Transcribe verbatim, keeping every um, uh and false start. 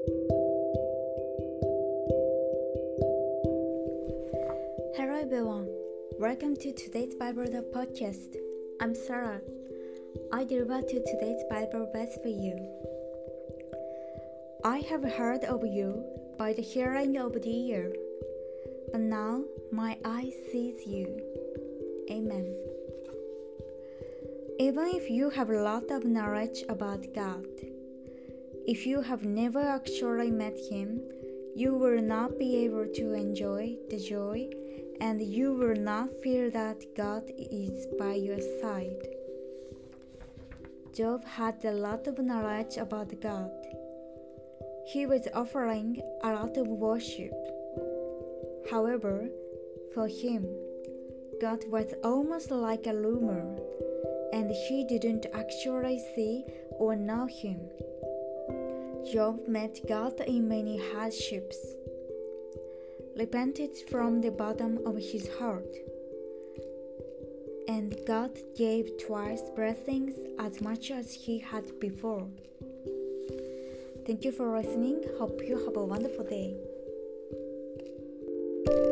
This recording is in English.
Hello everyone, welcome to today's Bible podcast. I'm Sarah. I deliver to today's Bible verse for you. I have heard of you by the hearing of the ear, but now my eye sees you. Amen. Even if you have a lot of knowledge about God, if you have never actually met Him, you will not be able to enjoy the joy, and you will not feel that God is by your side. Job had a lot of knowledge about God. He was offering a lot of worship. However, for him, God was almost like a rumor, and he didn't actually see or know Him. Job met God in many hardships, repented from the bottom of his heart, and God gave twice blessings as much as He had before. Thank you for listening. Hope you have a wonderful day.